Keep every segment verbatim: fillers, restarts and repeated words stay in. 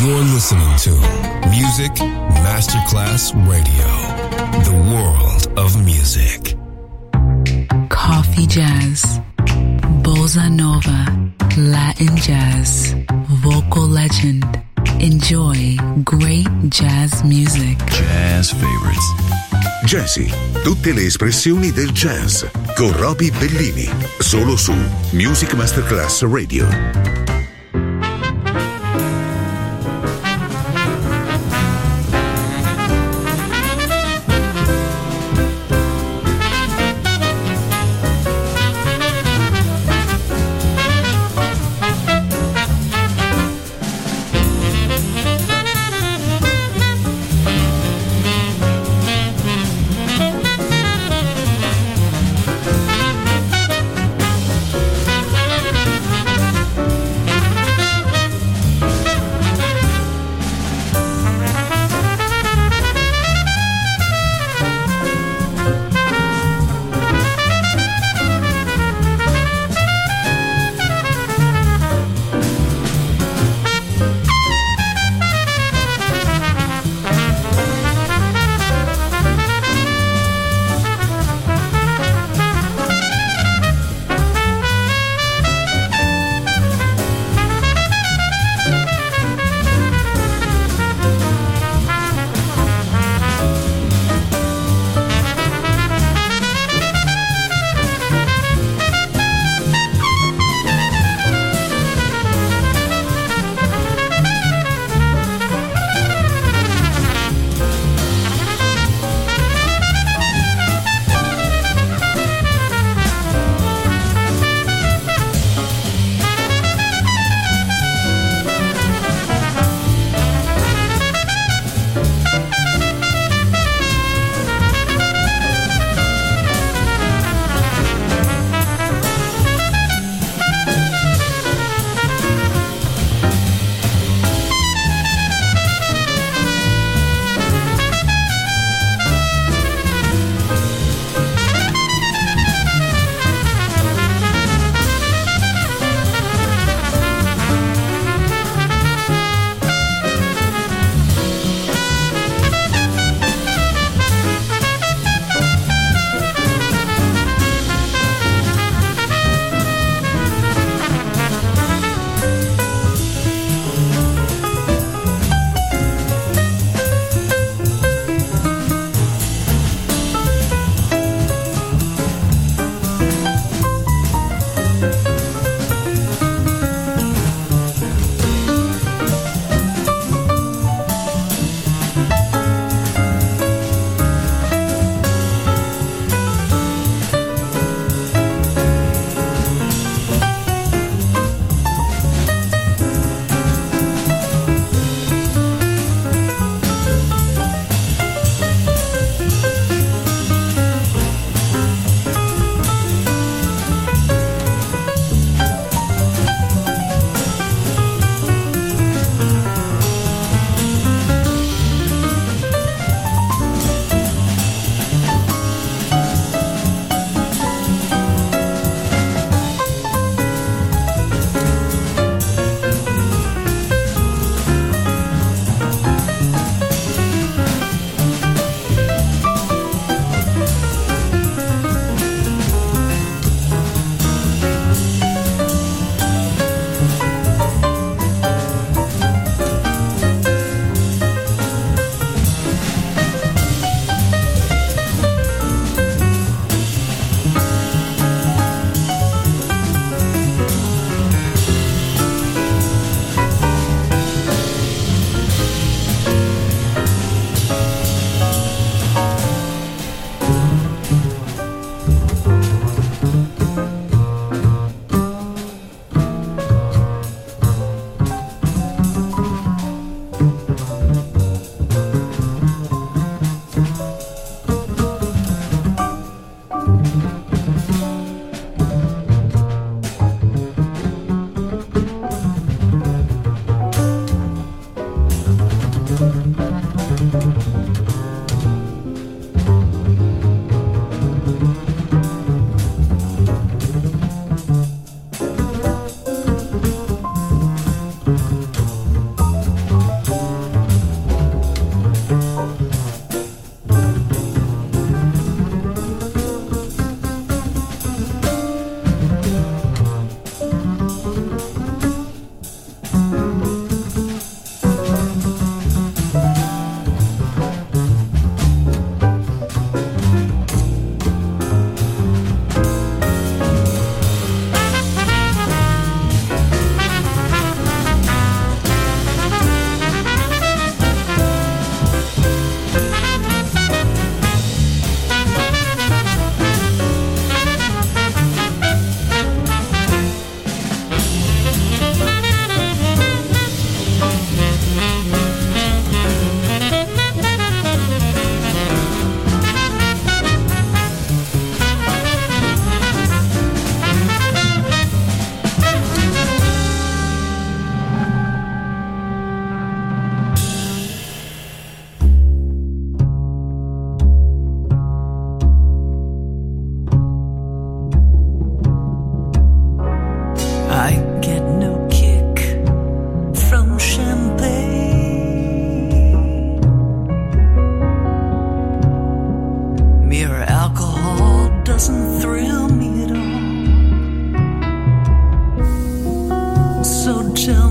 You're listening to Music Masterclass Radio, the world of music. Coffee jazz, bossa nova, Latin jazz, vocal legend. Enjoy great jazz music. Jazz favorites. Jazzy, tutte le espressioni del jazz con Roby Bellini, solo su Music Masterclass Radio.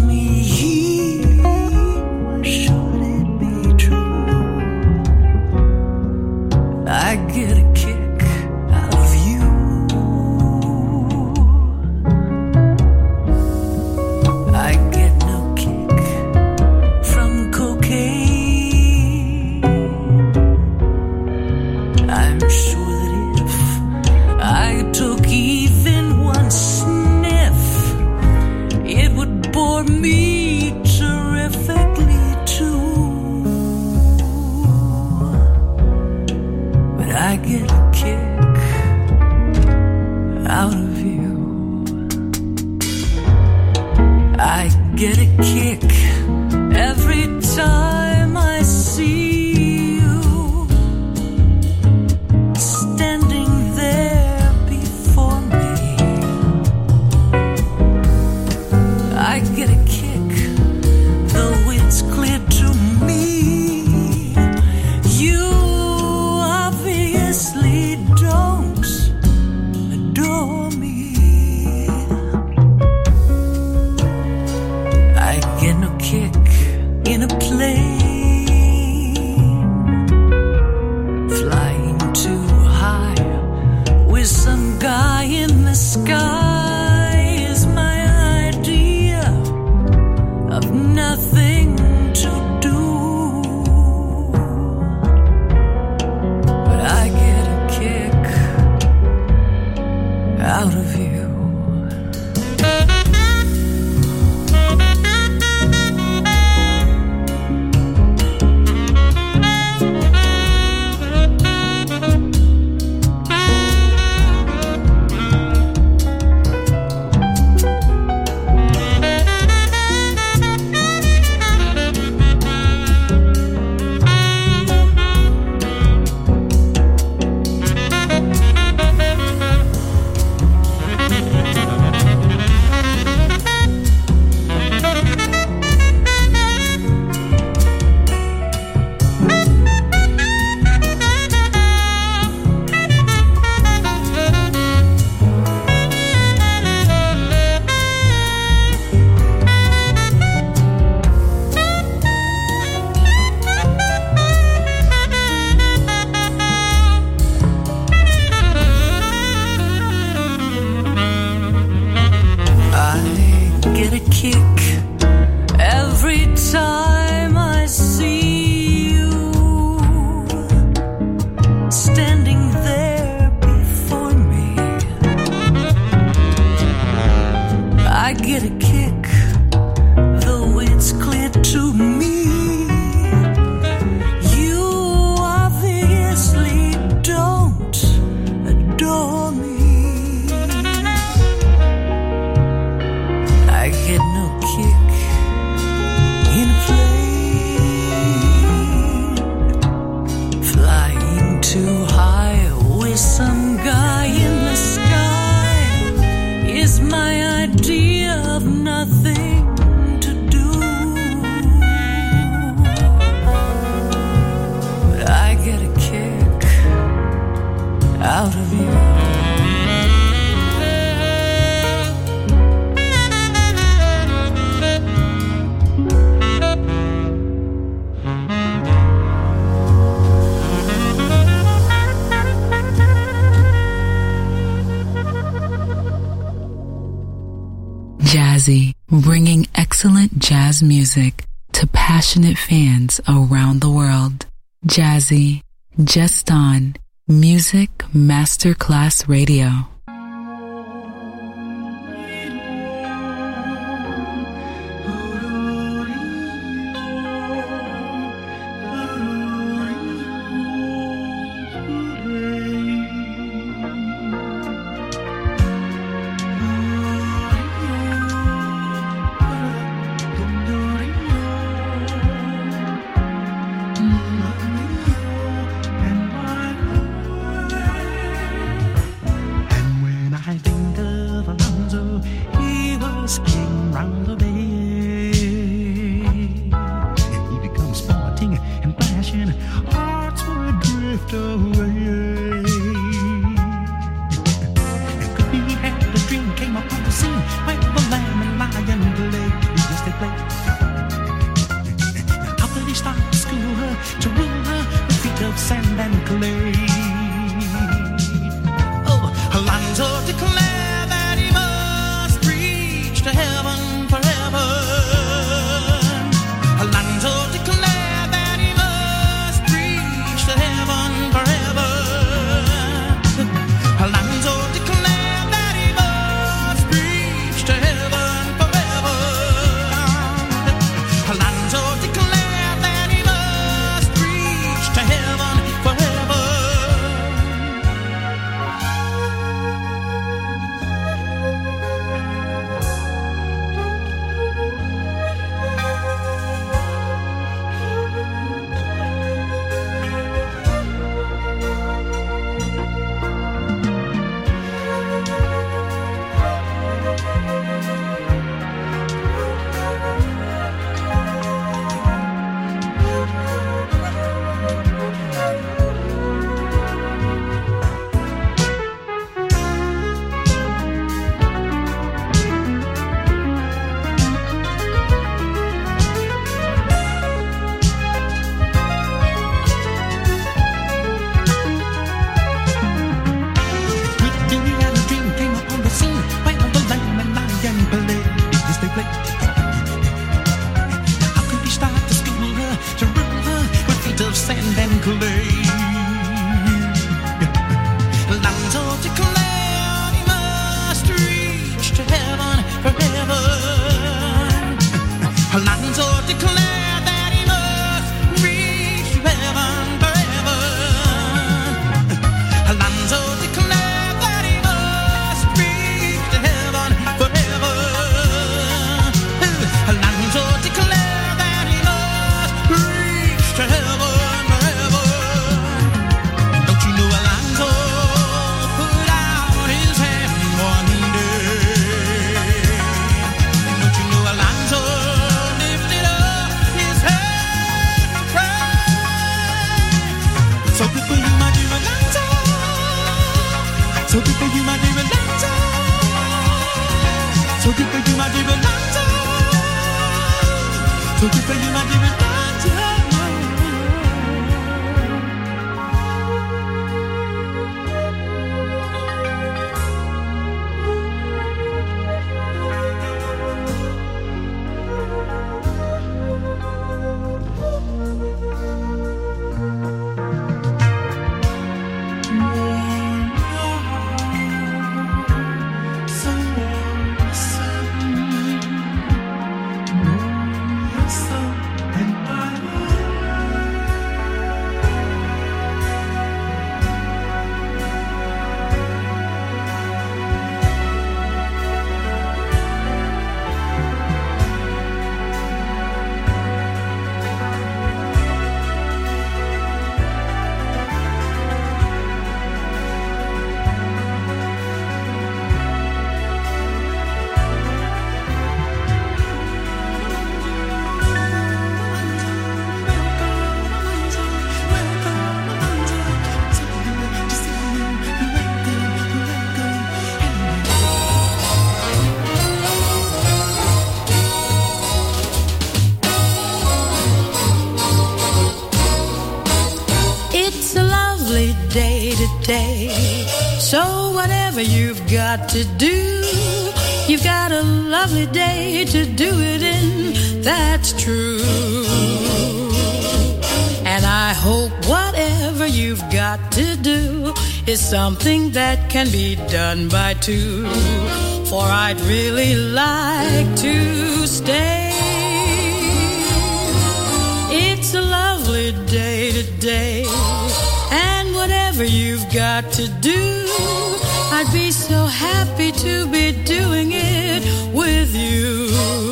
Jazzy, bringing excellent jazz music to passionate fans around the world. Jazzy, just on Music Masterclass Radio. And clay. Alonzo declared he must reach to heaven forever. Alonzo declared that he must reach to heaven forever. Alonzo declared that he must reach to heaven forever. Alonzo declared that he must reach to heaven forever. Don't you know Alonzo put out his hand one day? Don't you know Alonzo lifted up his head to pray? So good for you, my dear Alonzo. So good for you, my dear Alonzo. So good for you, my dear Alonzo. So good for you, my dear Alonzo. It's a lovely day today, so whatever you've got to do, you've got a lovely day to do it in, that's true. And I hope whatever you've got to do is something that can be done by two, for I'd really like to stay. It's a lovely day today, and whatever you've got to do, I'd be so happy to be doing it with you.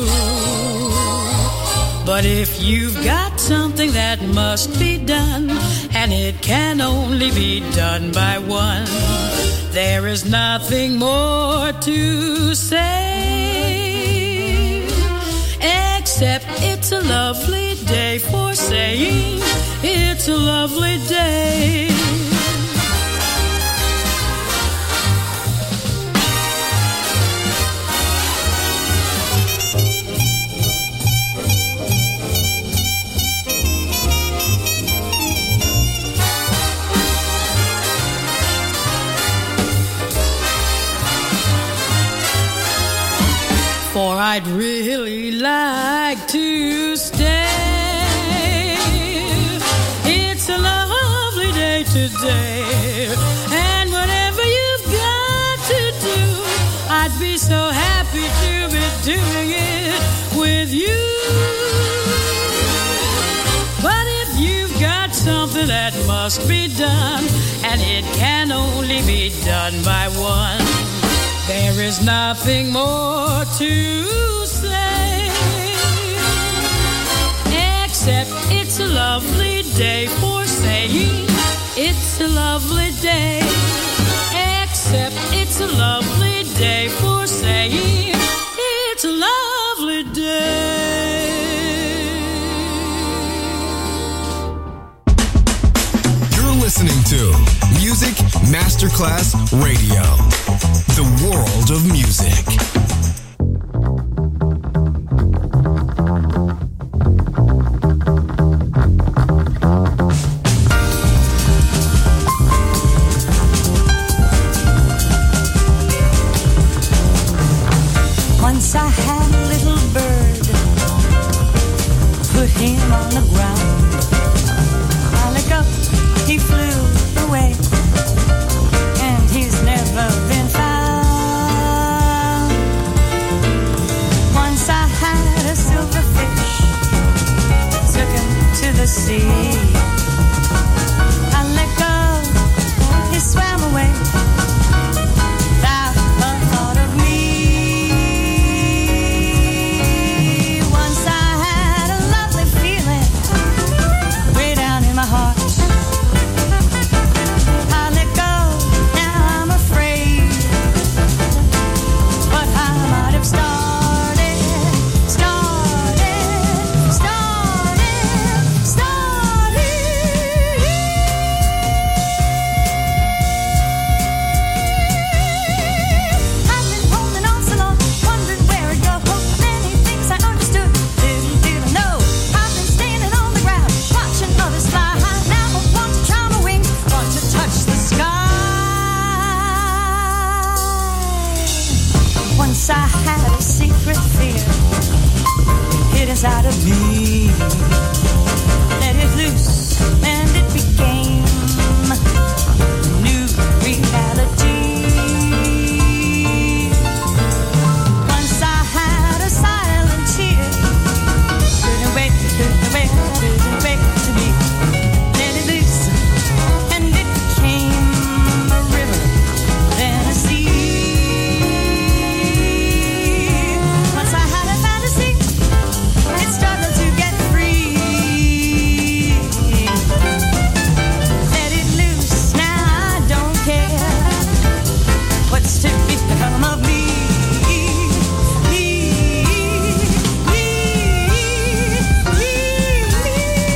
But if you've got something that must be done, and it can only be done by one, there is nothing more to say, except it's a lovely day for saying it's a lovely day. For I'd really like to stay. It's a lovely day today, and whatever you've got to do, I'd be so happy to be doing it with you. But if you've got something that must be done, and it can only be done by one, there is nothing more to say, except it's a lovely day for saying it's a lovely day. Except it's a lovely day for saying it's a lovely day. You're listening to Music Masterclass Radio. The world of music. Once I had a little bird, put him on the ground. I look up sea. I let go, he swam away. Without a thought of me. Once I had a lovely feeling way down in my heart. I let go, now I'm afraid. What I might have started, started, started, started. I've been holding on so long, wondering where it goes. Many things I understood, little did I know. I've been standing on the ground, watching others fly high. Now I want to try my wings, want to touch the sky. Once I had a secret fear, it is out of me. Let it loose, and it became a new reality. Once I had a silent tear, couldn't wait, couldn't wait, couldn't wait to be. Let it loose, and it became a river, then a sea. Once I had a fantasy, it struggled to get free. Let it loose, now I don't care what's to become of me. Me, me, me, me.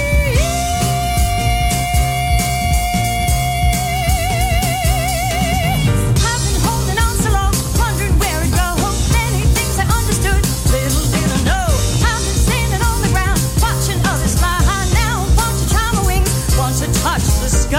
I've been holding on so long, wondering where it goes. Many things I understood, little did I know. I've been standing on the ground, watching others fly high. Now I want to try my wings, want to touch the sky.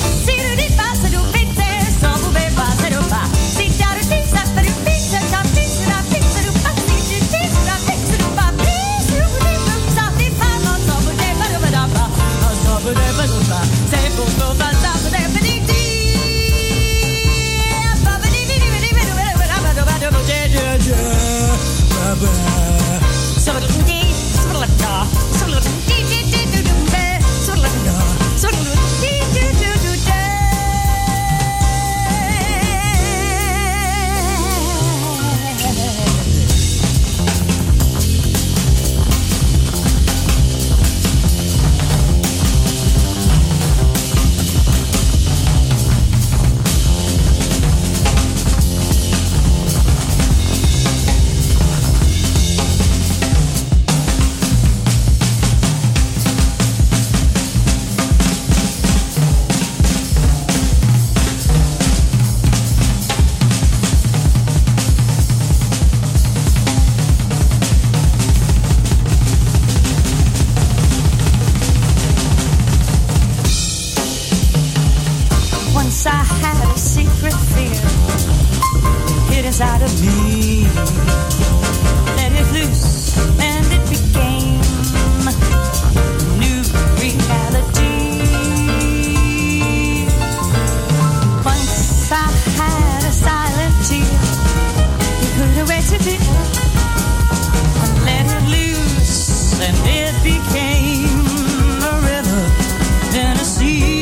Stop inside of me. Let it loose and it became new reality. Once I had a silent tear, you put away to be, and let it loose and it became a river and a sea.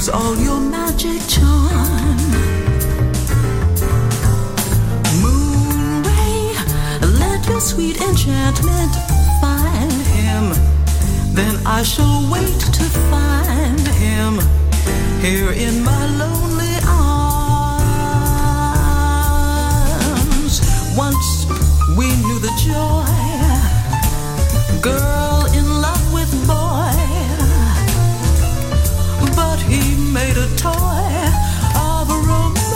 use all your magic charm. Moon ray, let your sweet enchantment find him. Then I shall wait to find him here in my lonely arms. Once we knew the joy, girl in love with boy, but he made a toy of a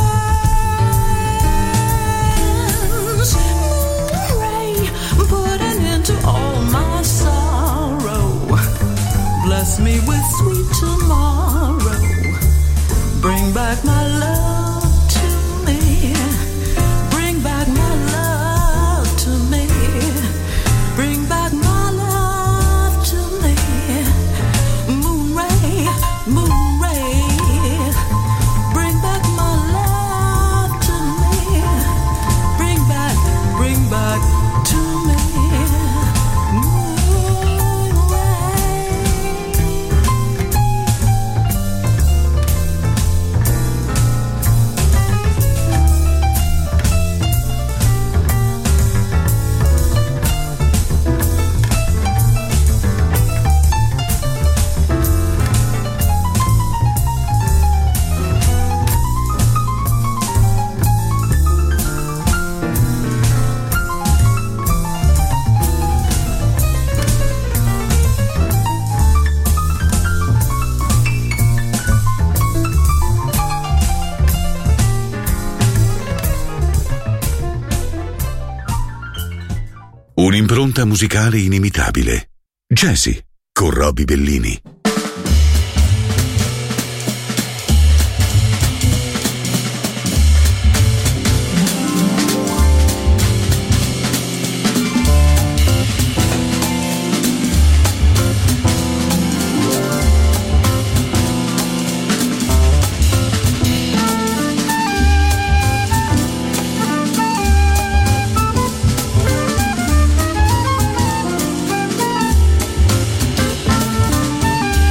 romance. Moon ray, put an end to all my sorrow. Bless me with sweet tomorrow. Bring back my love to me. Bring back my love to me. Bring back my love to me. Moon ray, moon ray. Bring back my love to me. Bring back, bring back to me. Un'impronta musicale inimitabile. Jazzy con Roby Bellini. Moon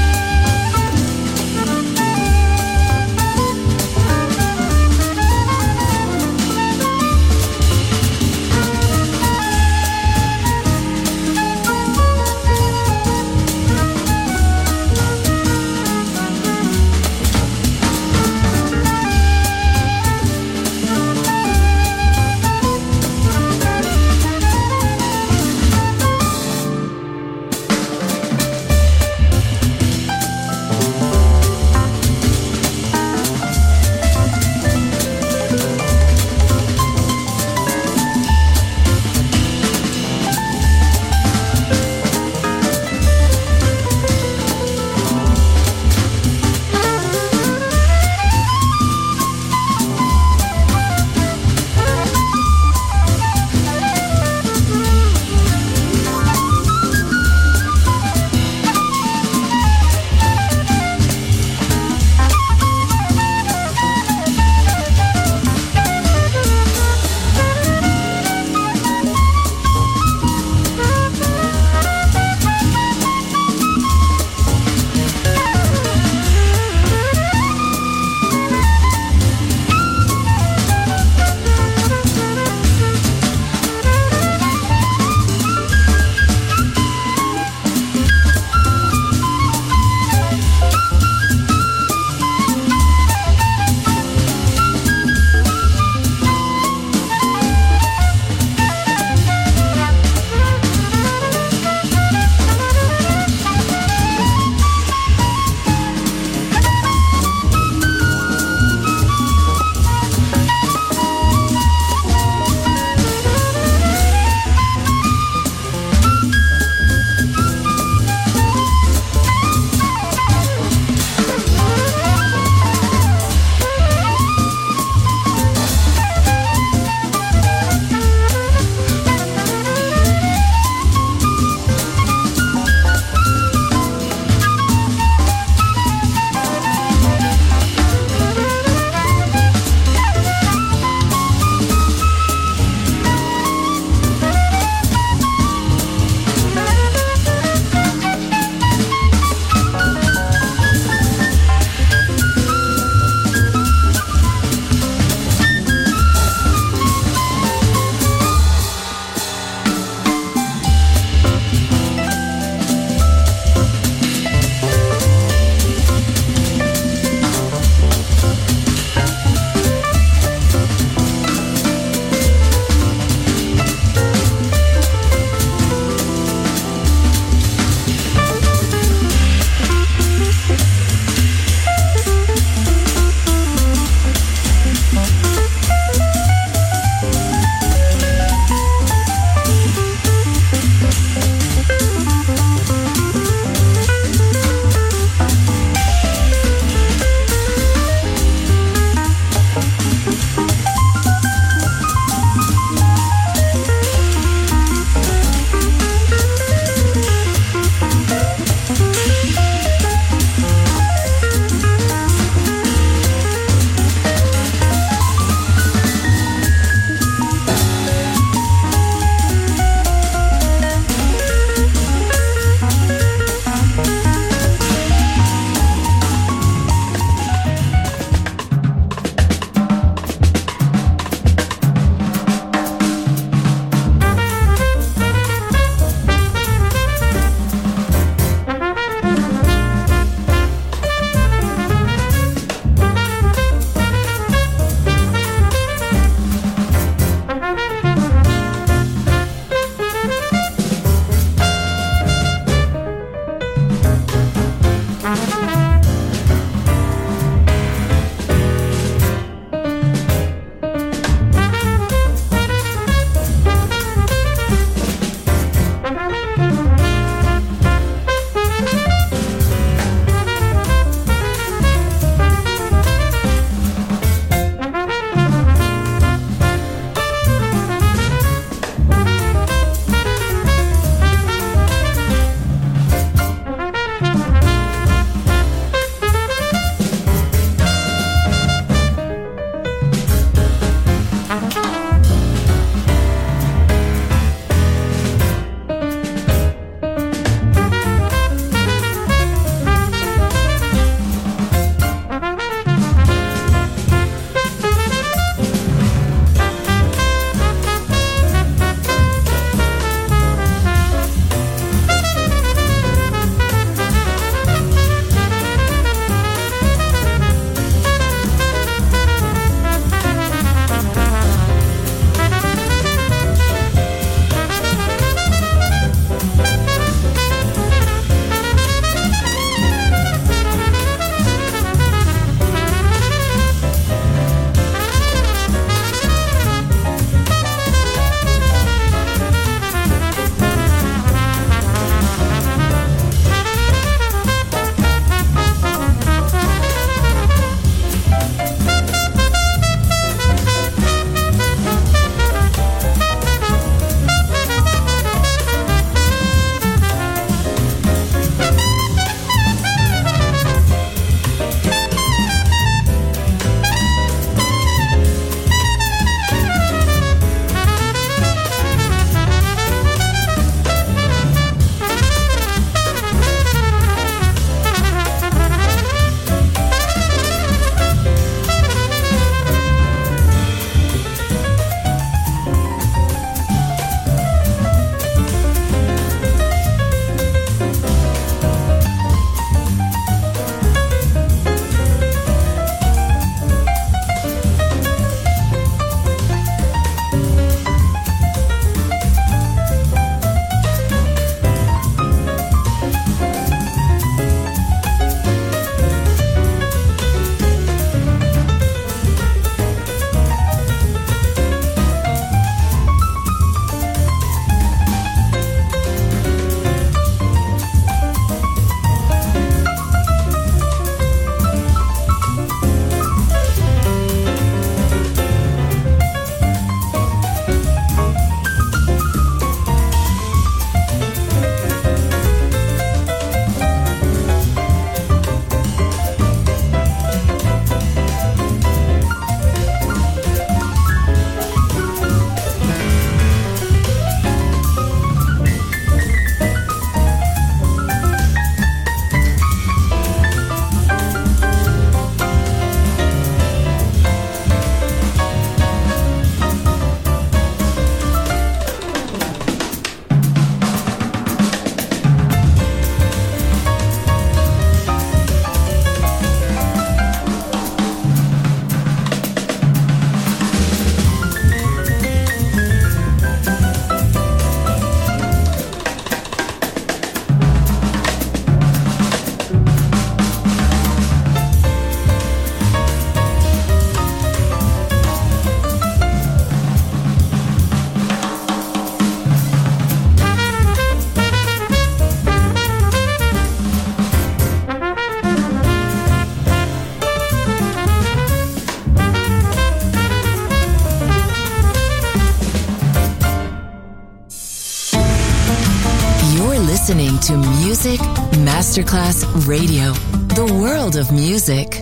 You're listening to Music Masterclass Radio, the world of music.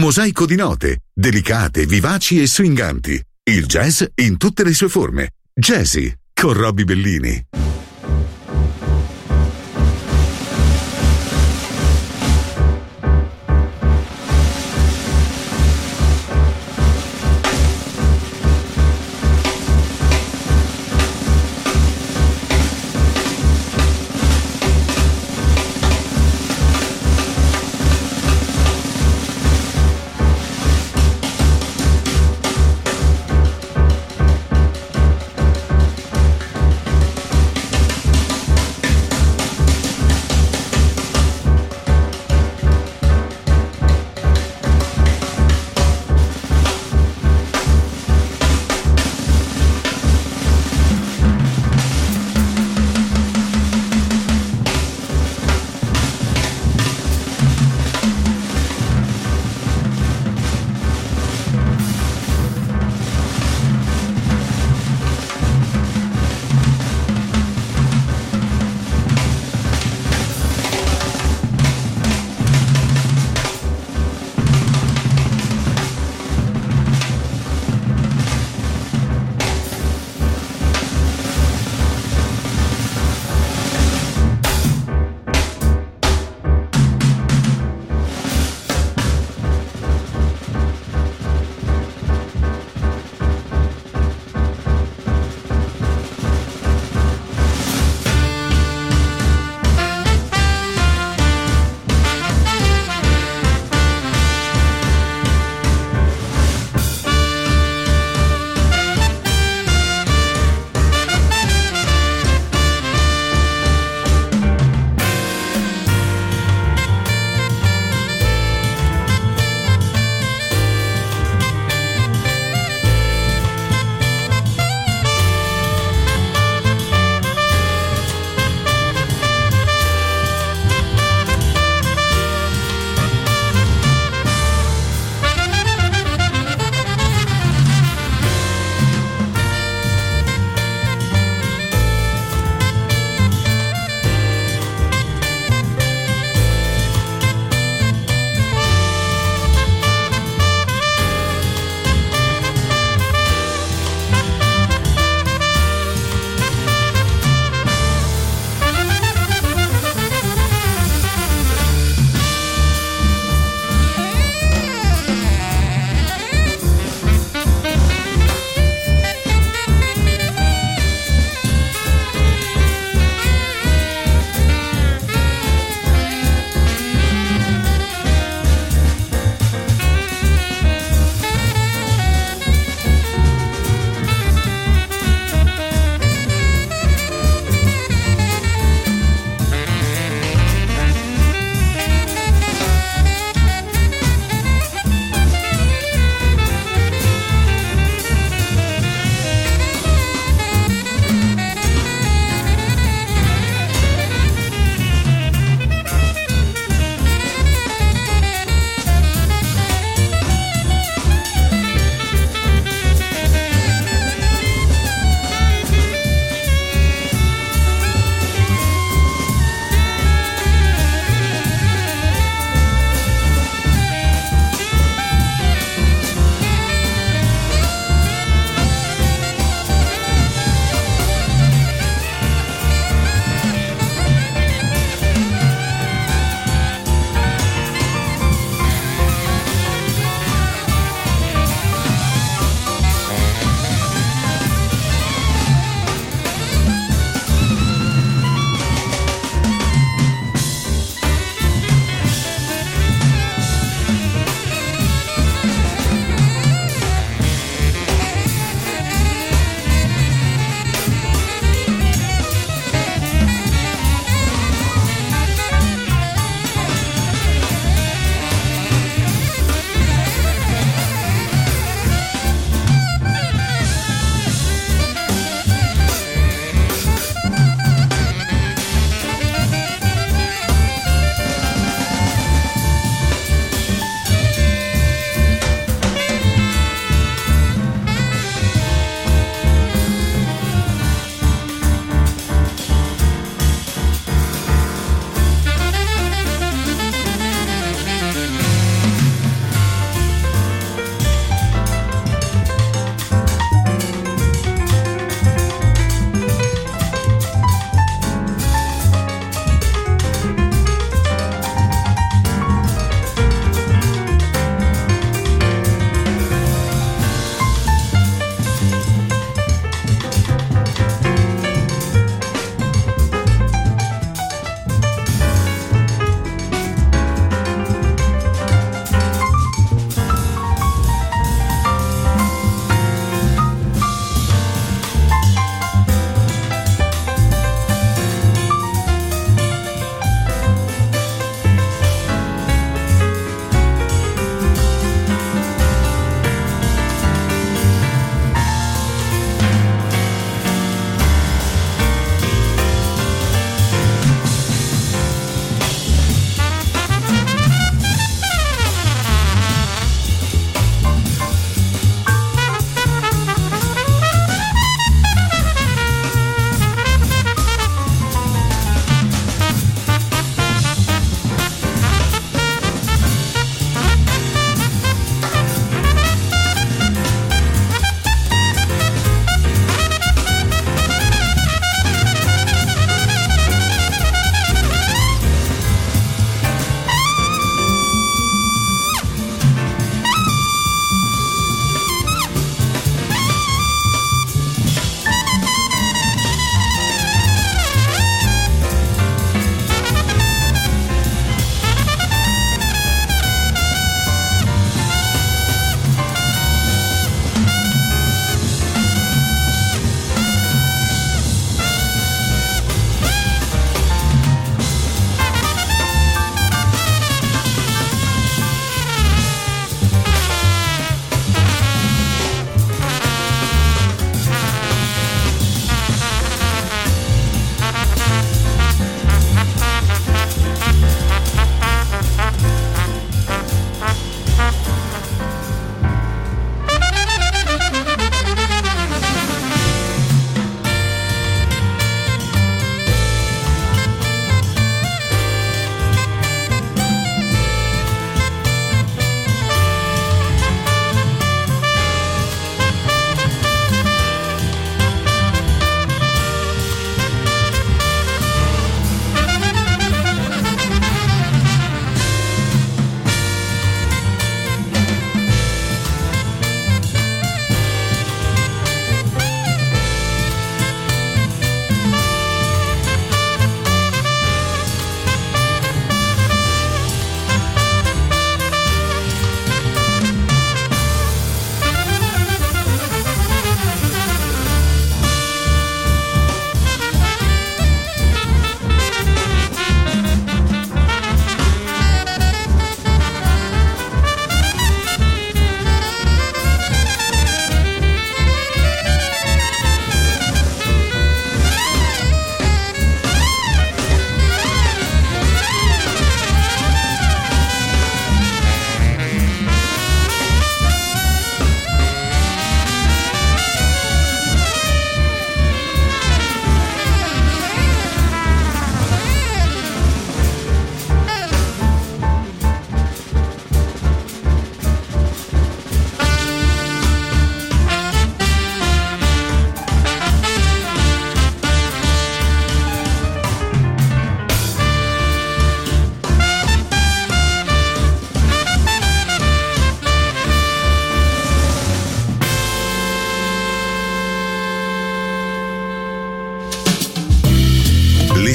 mosaico di note, delicate, vivaci e swinganti. Il jazz in tutte le sue forme. Jazzy, con Robbie Bellini.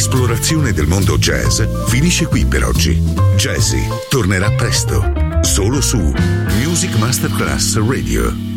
L'esplorazione del mondo jazz finisce qui per oggi. Jazzy tornerà presto, solo su Music Masterclass Radio.